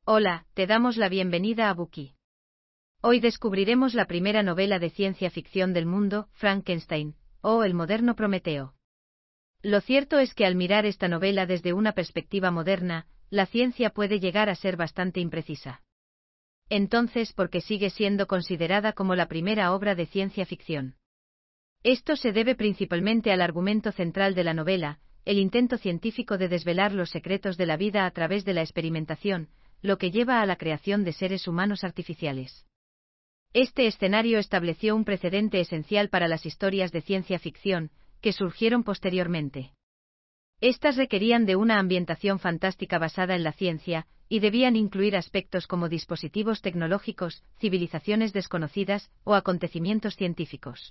Hola, te damos la bienvenida a Buki. Hoy descubriremos la primera novela de ciencia ficción del mundo, Frankenstein, o el moderno Prometeo. Lo cierto es que al mirar esta novela desde una perspectiva moderna, la ciencia puede llegar a ser bastante imprecisa. Entonces, ¿por qué sigue siendo considerada como la primera obra de ciencia ficción? Esto se debe principalmente al argumento central de la novela, el intento científico de desvelar los secretos de la vida a través de la experimentación, lo que lleva a la creación de seres humanos artificiales. Este escenario estableció un precedente esencial para las historias de ciencia ficción, que surgieron posteriormente. Estas requerían de una ambientación fantástica basada en la ciencia, y debían incluir aspectos como dispositivos tecnológicos, civilizaciones desconocidas, o acontecimientos científicos.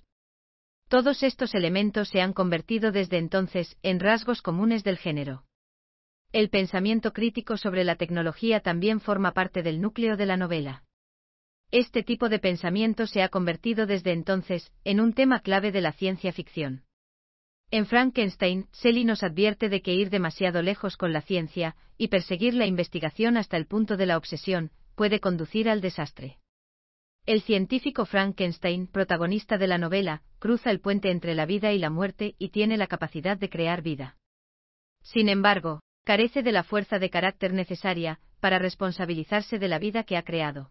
Todos estos elementos se han convertido desde entonces en rasgos comunes del género. El pensamiento crítico sobre la tecnología también forma parte del núcleo de la novela. Este tipo de pensamiento se ha convertido desde entonces en un tema clave de la ciencia ficción. En Frankenstein, Shelley nos advierte de que ir demasiado lejos con la ciencia, y perseguir la investigación hasta el punto de la obsesión, puede conducir al desastre. El científico Frankenstein, protagonista de la novela, cruza el puente entre la vida y la muerte y tiene la capacidad de crear vida. Sin embargo, carece de la fuerza de carácter necesaria para responsabilizarse de la vida que ha creado.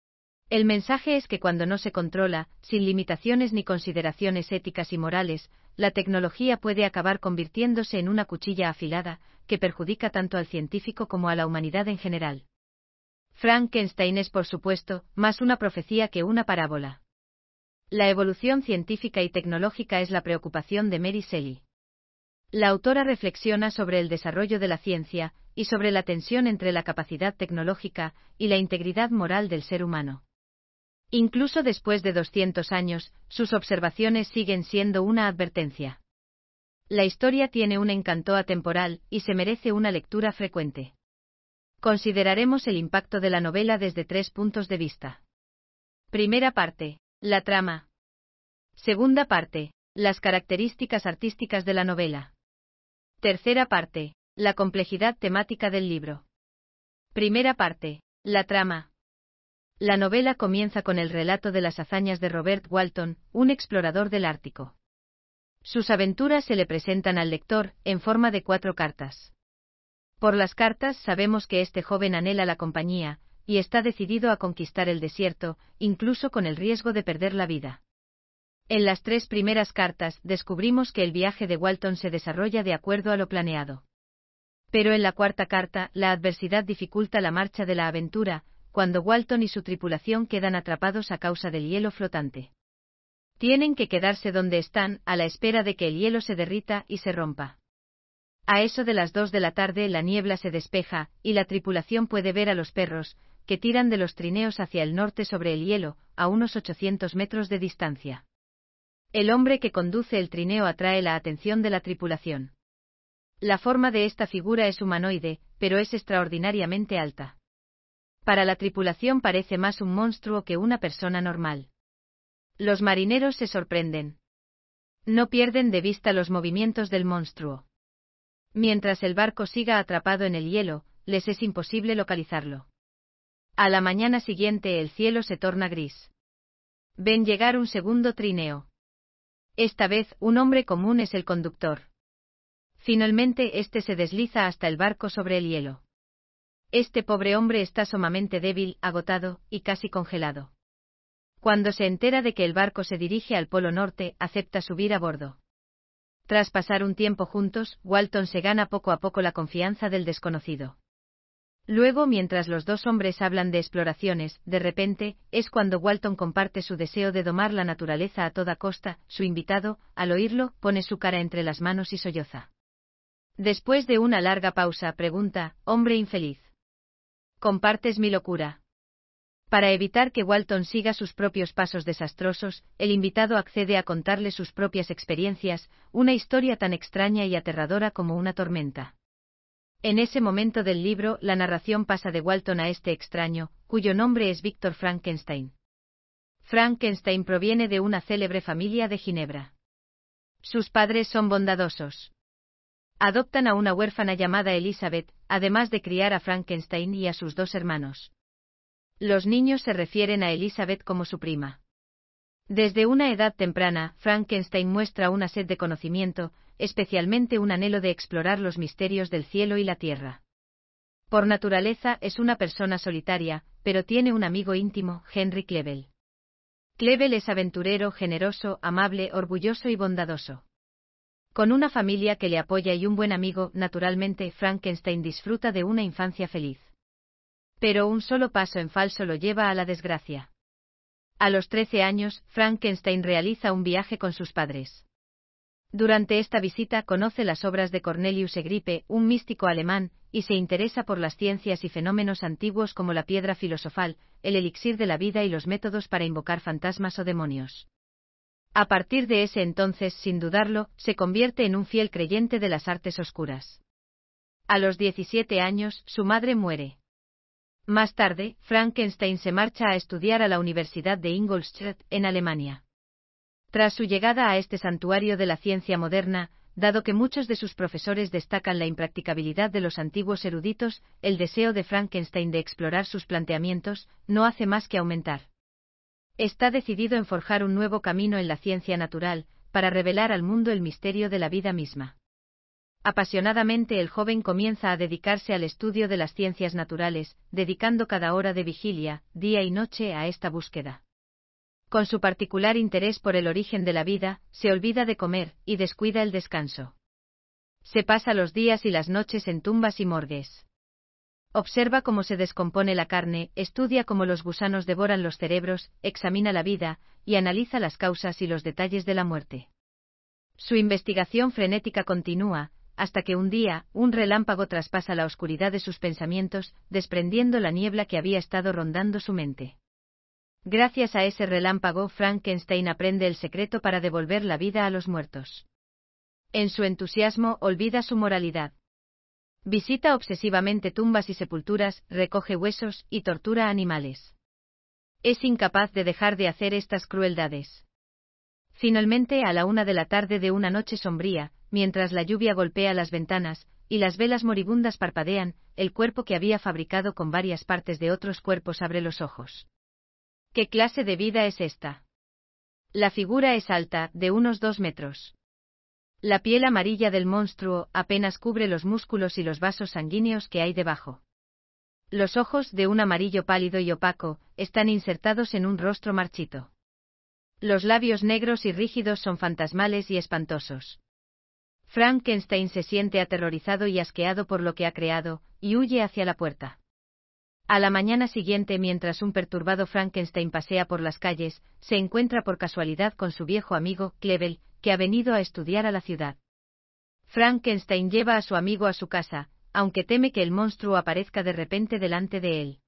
El mensaje es que cuando no se controla, sin limitaciones ni consideraciones éticas y morales, la tecnología puede acabar convirtiéndose en una cuchilla afilada, que perjudica tanto al científico como a la humanidad en general. Frankenstein es, por supuesto, más una profecía que una parábola. La evolución científica y tecnológica es la preocupación de Mary Shelley. La autora reflexiona sobre el desarrollo de la ciencia, y sobre la tensión entre la capacidad tecnológica y la integridad moral del ser humano. Incluso después de 200 años, sus observaciones siguen siendo una advertencia. La historia tiene un encanto atemporal, y se merece una lectura frecuente. Consideraremos el impacto de la novela desde 3 puntos de vista. Primera parte, la trama. Segunda parte, las características artísticas de la novela. Tercera parte, la complejidad temática del libro. Primera parte, la trama. La novela comienza con el relato de las hazañas de Robert Walton, un explorador del Ártico. Sus aventuras se le presentan al lector en forma de 4 cartas. Por las cartas sabemos que este joven anhela la compañía, y está decidido a conquistar el desierto, incluso con el riesgo de perder la vida. En las 3 primeras cartas descubrimos que el viaje de Walton se desarrolla de acuerdo a lo planeado. Pero en la 4ª carta, la adversidad dificulta la marcha de la aventura, cuando Walton y su tripulación quedan atrapados a causa del hielo flotante. Tienen que quedarse donde están, a la espera de que el hielo se derrita y se rompa. A eso de las 2 de la tarde la niebla se despeja, y la tripulación puede ver a los perros, que tiran de los trineos hacia el norte sobre el hielo, a unos 800 metros de distancia. El hombre que conduce el trineo atrae la atención de la tripulación. La forma de esta figura es humanoide, pero es extraordinariamente alta. Para la tripulación parece más un monstruo que una persona normal. Los marineros se sorprenden. No pierden de vista los movimientos del monstruo. Mientras el barco siga atrapado en el hielo, les es imposible localizarlo. A la mañana siguiente el cielo se torna gris. Ven llegar un segundo trineo. Esta vez, un hombre común es el conductor. Finalmente, este se desliza hasta el barco sobre el hielo. Este pobre hombre está sumamente débil, agotado, y casi congelado. Cuando se entera de que el barco se dirige al Polo Norte, acepta subir a bordo. Tras pasar un tiempo juntos, Walton se gana poco a poco la confianza del desconocido. Luego, mientras los 2 hombres hablan de exploraciones, de repente, es cuando Walton comparte su deseo de domar la naturaleza a toda costa. Su invitado, al oírlo, pone su cara entre las manos y solloza. Después de una larga pausa, pregunta: «Hombre infeliz, ¿compartes mi locura?». Para evitar que Walton siga sus propios pasos desastrosos, el invitado accede a contarle sus propias experiencias, una historia tan extraña y aterradora como una tormenta. En ese momento del libro, la narración pasa de Walton a este extraño, cuyo nombre es Víctor Frankenstein. Frankenstein proviene de una célebre familia de Ginebra. Sus padres son bondadosos. Adoptan a una huérfana llamada Elizabeth, además de criar a Frankenstein y a sus dos hermanos. Los niños se refieren a Elizabeth como su prima. Desde una edad temprana, Frankenstein muestra una sed de conocimiento, especialmente un anhelo de explorar los misterios del cielo y la tierra. Por naturaleza es una persona solitaria, pero tiene un amigo íntimo, Henry Clevel. Clevel es aventurero, generoso, amable, orgulloso y bondadoso. Con una familia que le apoya y un buen amigo, naturalmente, Frankenstein disfruta de una infancia feliz. Pero un solo paso en falso lo lleva a la desgracia. A los 13 años, Frankenstein realiza un viaje con sus padres. Durante esta visita conoce las obras de Cornelius Egripe, un místico alemán, y se interesa por las ciencias y fenómenos antiguos como la piedra filosofal, el elixir de la vida y los métodos para invocar fantasmas o demonios. A partir de ese entonces, sin dudarlo, se convierte en un fiel creyente de las artes oscuras. A los 17 años, su madre muere. Más tarde, Frankenstein se marcha a estudiar a la Universidad de Ingolstadt, en Alemania. Tras su llegada a este santuario de la ciencia moderna, dado que muchos de sus profesores destacan la impracticabilidad de los antiguos eruditos, el deseo de Frankenstein de explorar sus planteamientos no hace más que aumentar. Está decidido en forjar un nuevo camino en la ciencia natural, para revelar al mundo el misterio de la vida misma. Apasionadamente el joven comienza a dedicarse al estudio de las ciencias naturales, dedicando cada hora de vigilia, día y noche a esta búsqueda. Con su particular interés por el origen de la vida, se olvida de comer, y descuida el descanso. Se pasa los días y las noches en tumbas y morgues. Observa cómo se descompone la carne, estudia cómo los gusanos devoran los cerebros, examina la vida, y analiza las causas y los detalles de la muerte. Su investigación frenética continúa, hasta que un día, un relámpago traspasa la oscuridad de sus pensamientos, desprendiendo la niebla que había estado rondando su mente. Gracias a ese relámpago, Frankenstein aprende el secreto para devolver la vida a los muertos. En su entusiasmo, olvida su moralidad. Visita obsesivamente tumbas y sepulturas, recoge huesos y tortura animales. Es incapaz de dejar de hacer estas crueldades. Finalmente, a la 1 de la tarde de una noche sombría, mientras la lluvia golpea las ventanas, y las velas moribundas parpadean, el cuerpo que había fabricado con varias partes de otros cuerpos abre los ojos. ¿Qué clase de vida es esta? La figura es alta, de unos 2 metros. La piel amarilla del monstruo apenas cubre los músculos y los vasos sanguíneos que hay debajo. Los ojos, de un amarillo pálido y opaco, están insertados en un rostro marchito. Los labios negros y rígidos son fantasmales y espantosos. Frankenstein se siente aterrorizado y asqueado por lo que ha creado, y huye hacia la puerta. A la mañana siguiente, mientras un perturbado Frankenstein pasea por las calles, se encuentra por casualidad con su viejo amigo, Clevel, que ha venido a estudiar a la ciudad. Frankenstein lleva a su amigo a su casa, aunque teme que el monstruo aparezca de repente delante de él.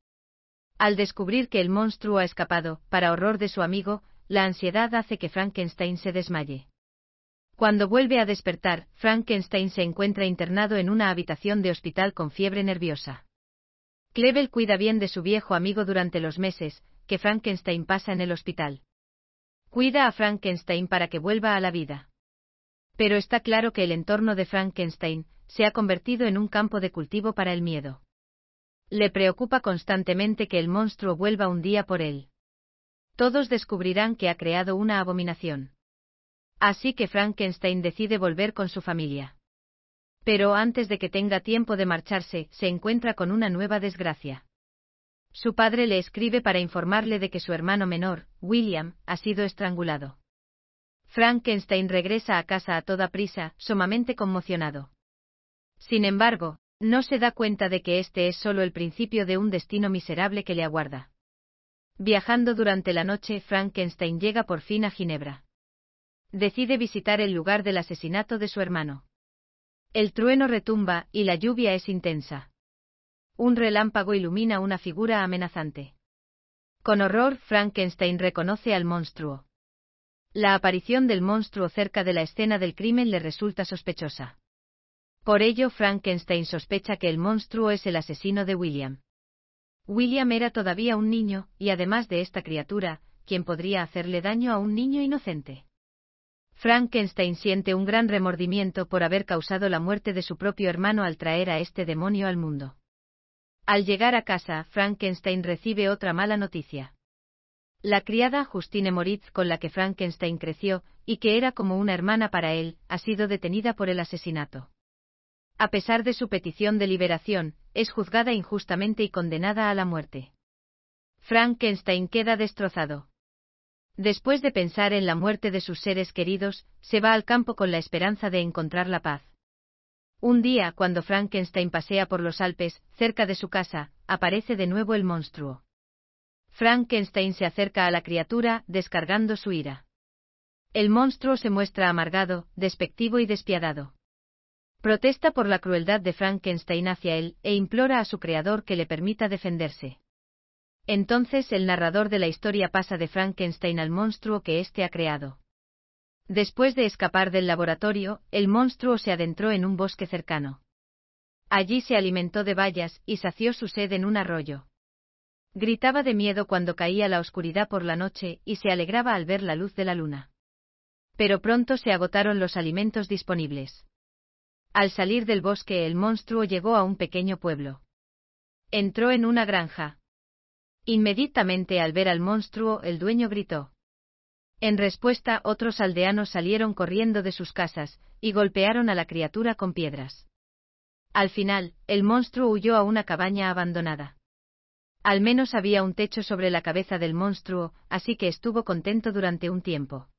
Al descubrir que el monstruo ha escapado, para horror de su amigo, la ansiedad hace que Frankenstein se desmaye. Cuando vuelve a despertar, Frankenstein se encuentra internado en una habitación de hospital con fiebre nerviosa. Clevel cuida bien de su viejo amigo durante los meses que Frankenstein pasa en el hospital. Cuida a Frankenstein para que vuelva a la vida. Pero está claro que el entorno de Frankenstein se ha convertido en un campo de cultivo para el miedo. Le preocupa constantemente que el monstruo vuelva un día por él. Todos descubrirán que ha creado una abominación. Así que Frankenstein decide volver con su familia. Pero antes de que tenga tiempo de marcharse, se encuentra con una nueva desgracia. Su padre le escribe para informarle de que su hermano menor, William, ha sido estrangulado. Frankenstein regresa a casa a toda prisa, sumamente conmocionado. Sin embargo, no se da cuenta de que este es solo el principio de un destino miserable que le aguarda. Viajando durante la noche, Frankenstein llega por fin a Ginebra. Decide visitar el lugar del asesinato de su hermano. El trueno retumba, y la lluvia es intensa. Un relámpago ilumina una figura amenazante. Con horror, Frankenstein reconoce al monstruo. La aparición del monstruo cerca de la escena del crimen le resulta sospechosa. Por ello, Frankenstein sospecha que el monstruo es el asesino de William. William era todavía un niño, y además de esta criatura, ¿quién podría hacerle daño a un niño inocente? Frankenstein siente un gran remordimiento por haber causado la muerte de su propio hermano al traer a este demonio al mundo. Al llegar a casa, Frankenstein recibe otra mala noticia. La criada Justine Moritz, con la que Frankenstein creció, y que era como una hermana para él, ha sido detenida por el asesinato. A pesar de su petición de liberación, es juzgada injustamente y condenada a la muerte. Frankenstein queda destrozado. Después de pensar en la muerte de sus seres queridos, se va al campo con la esperanza de encontrar la paz. Un día, cuando Frankenstein pasea por los Alpes, cerca de su casa, aparece de nuevo el monstruo. Frankenstein se acerca a la criatura, descargando su ira. El monstruo se muestra amargado, despectivo y despiadado. Protesta por la crueldad de Frankenstein hacia él, e implora a su creador que le permita defenderse. Entonces el narrador de la historia pasa de Frankenstein al monstruo que éste ha creado. Después de escapar del laboratorio, el monstruo se adentró en un bosque cercano. Allí se alimentó de bayas y sació su sed en un arroyo. Gritaba de miedo cuando caía la oscuridad por la noche y se alegraba al ver la luz de la luna. Pero pronto se agotaron los alimentos disponibles. Al salir del bosque, el monstruo llegó a un pequeño pueblo. Entró en una granja. Inmediatamente al ver al monstruo, el dueño gritó. En respuesta, otros aldeanos salieron corriendo de sus casas, y golpearon a la criatura con piedras. Al final, el monstruo huyó a una cabaña abandonada. Al menos había un techo sobre la cabeza del monstruo, así que estuvo contento durante un tiempo.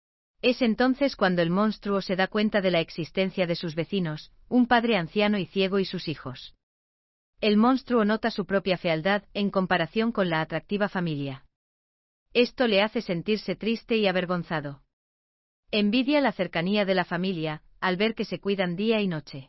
Es entonces cuando el monstruo se da cuenta de la existencia de sus vecinos, un padre anciano y ciego y sus hijos. El monstruo nota su propia fealdad en comparación con la atractiva familia. Esto le hace sentirse triste y avergonzado. Envidia la cercanía de la familia, al ver que se cuidan día y noche.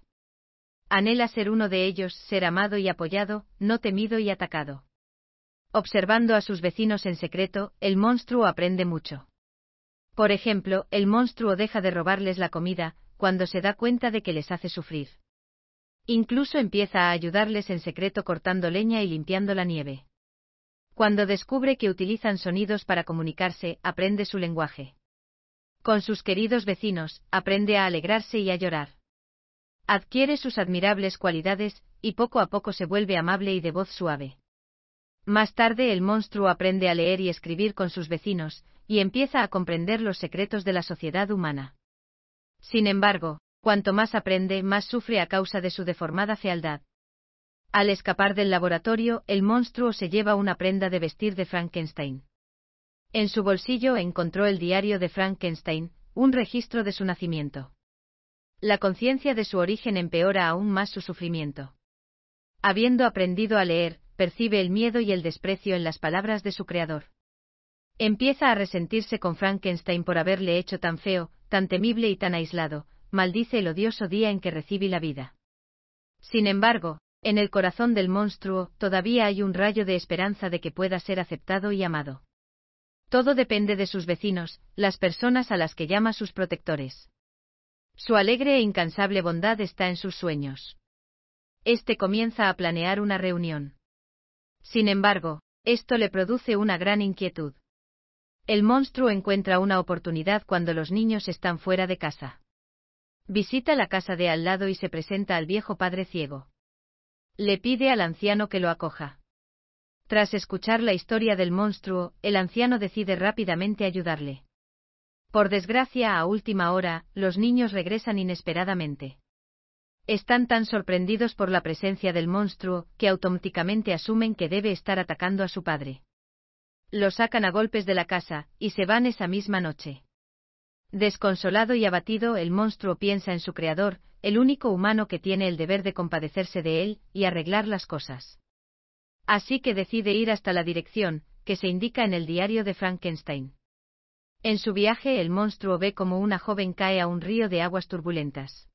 Anhela ser uno de ellos, ser amado y apoyado, no temido y atacado. Observando a sus vecinos en secreto, el monstruo aprende mucho. Por ejemplo, el monstruo deja de robarles la comida, cuando se da cuenta de que les hace sufrir. Incluso empieza a ayudarles en secreto cortando leña y limpiando la nieve. Cuando descubre que utilizan sonidos para comunicarse, aprende su lenguaje. Con sus queridos vecinos, aprende a alegrarse y a llorar. Adquiere sus admirables cualidades, y poco a poco se vuelve amable y de voz suave. Más tarde el monstruo aprende a leer y escribir con sus vecinos, y empieza a comprender los secretos de la sociedad humana. Sin embargo, cuanto más aprende, más sufre a causa de su deformada fealdad. Al escapar del laboratorio, el monstruo se lleva una prenda de vestir de Frankenstein. En su bolsillo encontró el diario de Frankenstein, un registro de su nacimiento. La conciencia de su origen empeora aún más su sufrimiento. Habiendo aprendido a leer, percibe el miedo y el desprecio en las palabras de su creador. Empieza a resentirse con Frankenstein por haberle hecho tan feo, tan temible y tan aislado. Maldice el odioso día en que recibí la vida. Sin embargo, en el corazón del monstruo todavía hay un rayo de esperanza de que pueda ser aceptado y amado. Todo depende de sus vecinos, las personas a las que llama sus protectores. Su alegre e incansable bondad está en sus sueños. Este comienza a planear una reunión. Sin embargo, esto le produce una gran inquietud. El monstruo encuentra una oportunidad cuando los niños están fuera de casa. Visita la casa de al lado y se presenta al viejo padre ciego. Le pide al anciano que lo acoja. Tras escuchar la historia del monstruo, el anciano decide rápidamente ayudarle. Por desgracia, a última hora, los niños regresan inesperadamente. Están tan sorprendidos por la presencia del monstruo, que automáticamente asumen que debe estar atacando a su padre. Lo sacan a golpes de la casa, y se van esa misma noche. Desconsolado y abatido, el monstruo piensa en su creador, el único humano que tiene el deber de compadecerse de él, y arreglar las cosas. Así que decide ir hasta la dirección, que se indica en el diario de Frankenstein. En su viaje el monstruo ve como una joven cae a un río de aguas turbulentas.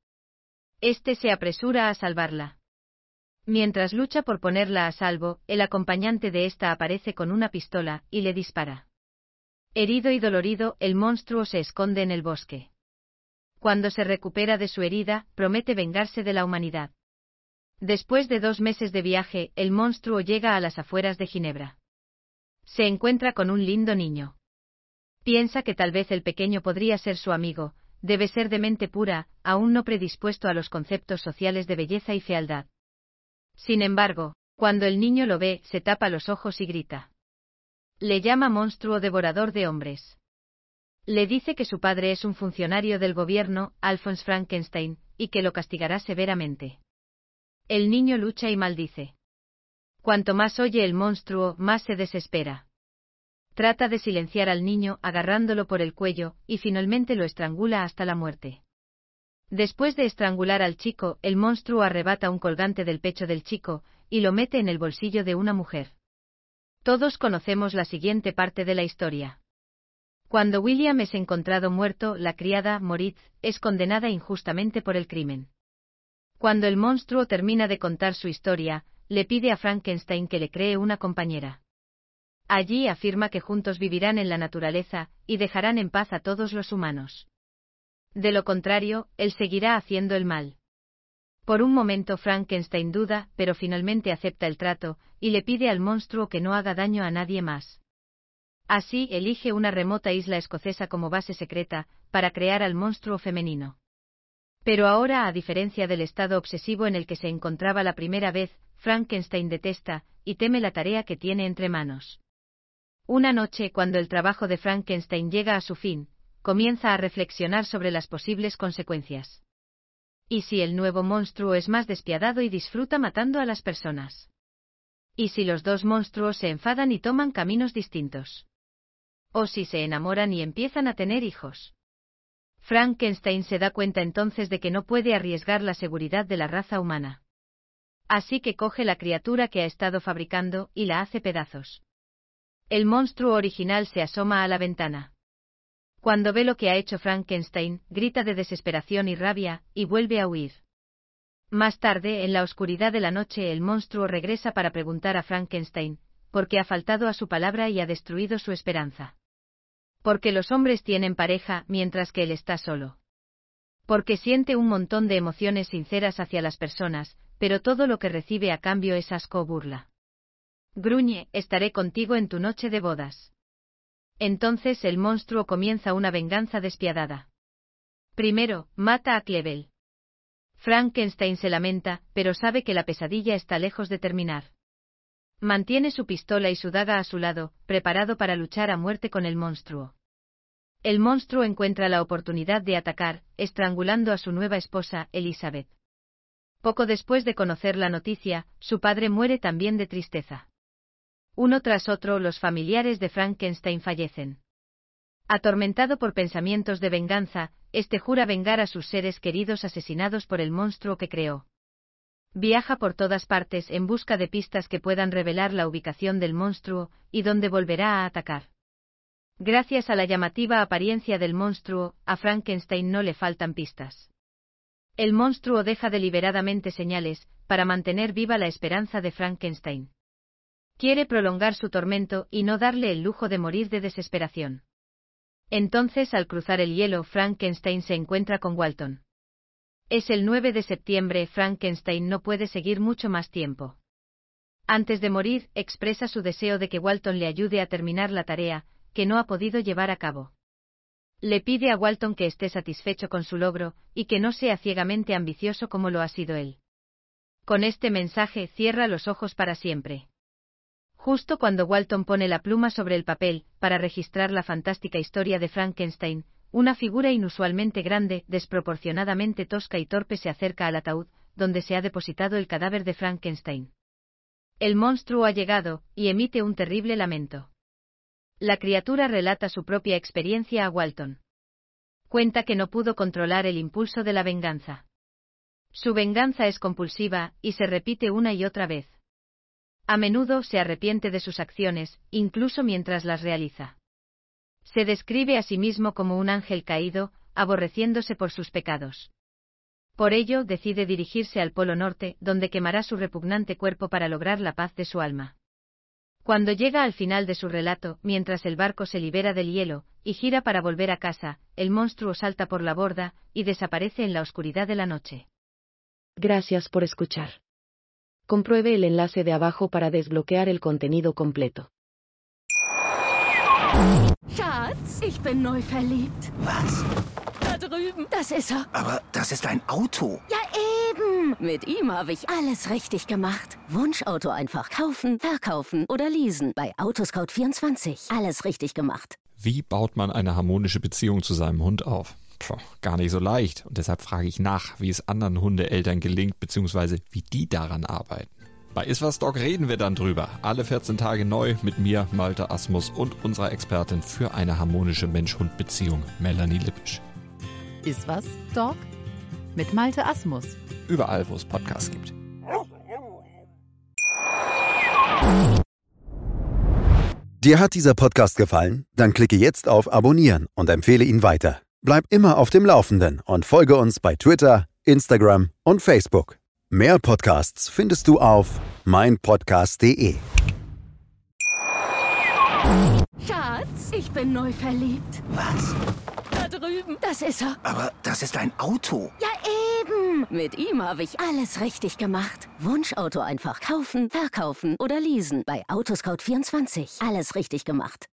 Este se apresura a salvarla. Mientras lucha por ponerla a salvo, el acompañante de esta aparece con una pistola, y le dispara. Herido y dolorido, el monstruo se esconde en el bosque. Cuando se recupera de su herida, promete vengarse de la humanidad. Después de 2 meses de viaje, el monstruo llega a las afueras de Ginebra. Se encuentra con un lindo niño. Piensa que tal vez el pequeño podría ser su amigo, debe ser de mente pura, aún no predispuesto a los conceptos sociales de belleza y fealdad. Sin embargo, cuando el niño lo ve, se tapa los ojos y grita. Le llama monstruo devorador de hombres. Le dice que su padre es un funcionario del gobierno, Alphonse Frankenstein, y que lo castigará severamente. El niño lucha y maldice. Cuanto más oye el monstruo, más se desespera. Trata de silenciar al niño agarrándolo por el cuello, y finalmente lo estrangula hasta la muerte. Después de estrangular al chico, el monstruo arrebata un colgante del pecho del chico, y lo mete en el bolsillo de una mujer. Todos conocemos la siguiente parte de la historia. Cuando William es encontrado muerto, la criada, Moritz, es condenada injustamente por el crimen. Cuando el monstruo termina de contar su historia, le pide a Frankenstein que le cree una compañera. Allí afirma que juntos vivirán en la naturaleza, y dejarán en paz a todos los humanos. De lo contrario, él seguirá haciendo el mal. Por un momento Frankenstein duda, pero finalmente acepta el trato, y le pide al monstruo que no haga daño a nadie más. Así elige una remota isla escocesa como base secreta, para crear al monstruo femenino. Pero ahora, a diferencia del estado obsesivo en el que se encontraba la primera vez, Frankenstein detesta, y teme la tarea que tiene entre manos. Una noche, cuando el trabajo de Frankenstein llega a su fin, comienza a reflexionar sobre las posibles consecuencias. ¿Y si el nuevo monstruo es más despiadado y disfruta matando a las personas? ¿Y si los dos monstruos se enfadan y toman caminos distintos? ¿O si se enamoran y empiezan a tener hijos? Frankenstein se da cuenta entonces de que no puede arriesgar la seguridad de la raza humana. Así que coge la criatura que ha estado fabricando y la hace pedazos. El monstruo original se asoma a la ventana. Cuando ve lo que ha hecho Frankenstein, grita de desesperación y rabia, y vuelve a huir. Más tarde, en la oscuridad de la noche, el monstruo regresa para preguntar a Frankenstein, por qué ha faltado a su palabra y ha destruido su esperanza. Porque los hombres tienen pareja, mientras que él está solo. Porque siente un montón de emociones sinceras hacia las personas, pero todo lo que recibe a cambio es asco o burla. Gruñe, estaré contigo en tu noche de bodas. Entonces el monstruo comienza una venganza despiadada. Primero, mata a Clevel. Frankenstein se lamenta, pero sabe que la pesadilla está lejos de terminar. Mantiene su pistola y su daga a su lado, preparado para luchar a muerte con el monstruo. El monstruo encuentra la oportunidad de atacar, estrangulando a su nueva esposa, Elizabeth. Poco después de conocer la noticia, su padre muere también de tristeza. Uno tras otro, los familiares de Frankenstein fallecen. Atormentado por pensamientos de venganza, este jura vengar a sus seres queridos asesinados por el monstruo que creó. Viaja por todas partes en busca de pistas que puedan revelar la ubicación del monstruo, y dónde volverá a atacar. Gracias a la llamativa apariencia del monstruo, a Frankenstein no le faltan pistas. El monstruo deja deliberadamente señales, para mantener viva la esperanza de Frankenstein. Quiere prolongar su tormento y no darle el lujo de morir de desesperación. Entonces, al cruzar el hielo, Frankenstein se encuentra con Walton. Es el 9 de septiembre, Frankenstein no puede seguir mucho más tiempo. Antes de morir, expresa su deseo de que Walton le ayude a terminar la tarea, que no ha podido llevar a cabo. Le pide a Walton que esté satisfecho con su logro, y que no sea ciegamente ambicioso como lo ha sido él. Con este mensaje cierra los ojos para siempre. Justo cuando Walton pone la pluma sobre el papel, para registrar la fantástica historia de Frankenstein, una figura inusualmente grande, desproporcionadamente tosca y torpe se acerca al ataúd, donde se ha depositado el cadáver de Frankenstein. El monstruo ha llegado, y emite un terrible lamento. La criatura relata su propia experiencia a Walton. Cuenta que no pudo controlar el impulso de la venganza. Su venganza es compulsiva, y se repite una y otra vez. A menudo se arrepiente de sus acciones, incluso mientras las realiza. Se describe a sí mismo como un ángel caído, aborreciéndose por sus pecados. Por ello, decide dirigirse al Polo Norte, donde quemará su repugnante cuerpo para lograr la paz de su alma. Cuando llega al final de su relato, mientras el barco se libera del hielo, y gira para volver a casa, el monstruo salta por la borda, y desaparece en la oscuridad de la noche. Gracias por escuchar. Compruebe el enlace de abajo para desbloquear el contenido completo. Schatz, ich bin neu verliebt. Was? Da drüben. Das ist er. Aber das ist ein Auto. Ja, eben. Mit ihm habe ich alles richtig gemacht. Wunschauto einfach kaufen, verkaufen oder leasen. Bei Autoscout24. Alles richtig gemacht. Wie baut man eine harmonische Beziehung zu seinem Hund auf? Gar nicht so leicht. Und deshalb frage ich nach, wie es anderen Hundeeltern gelingt, beziehungsweise wie die daran arbeiten. Bei Iswas Dog reden wir dann drüber. Alle 14 Tage neu mit mir, Malte Asmus, und unserer Expertin für eine harmonische Mensch-Hund-Beziehung, Melanie Lippisch. Iswas Dog mit Malte Asmus. Überall, wo es Podcasts gibt. Dir hat dieser Podcast gefallen? Dann klicke jetzt auf Abonnieren und empfehle ihn weiter. Bleib immer auf dem Laufenden und folge uns bei Twitter, Instagram und Facebook. Mehr Podcasts findest du auf meinpodcast.de. Schatz, ich bin neu verliebt. Was? Da drüben. Das ist er. Aber das ist ein Auto. Ja, eben. Mit ihm habe ich alles richtig gemacht. Wunschauto einfach kaufen, verkaufen oder leasen. Bei Autoscout24. Alles richtig gemacht.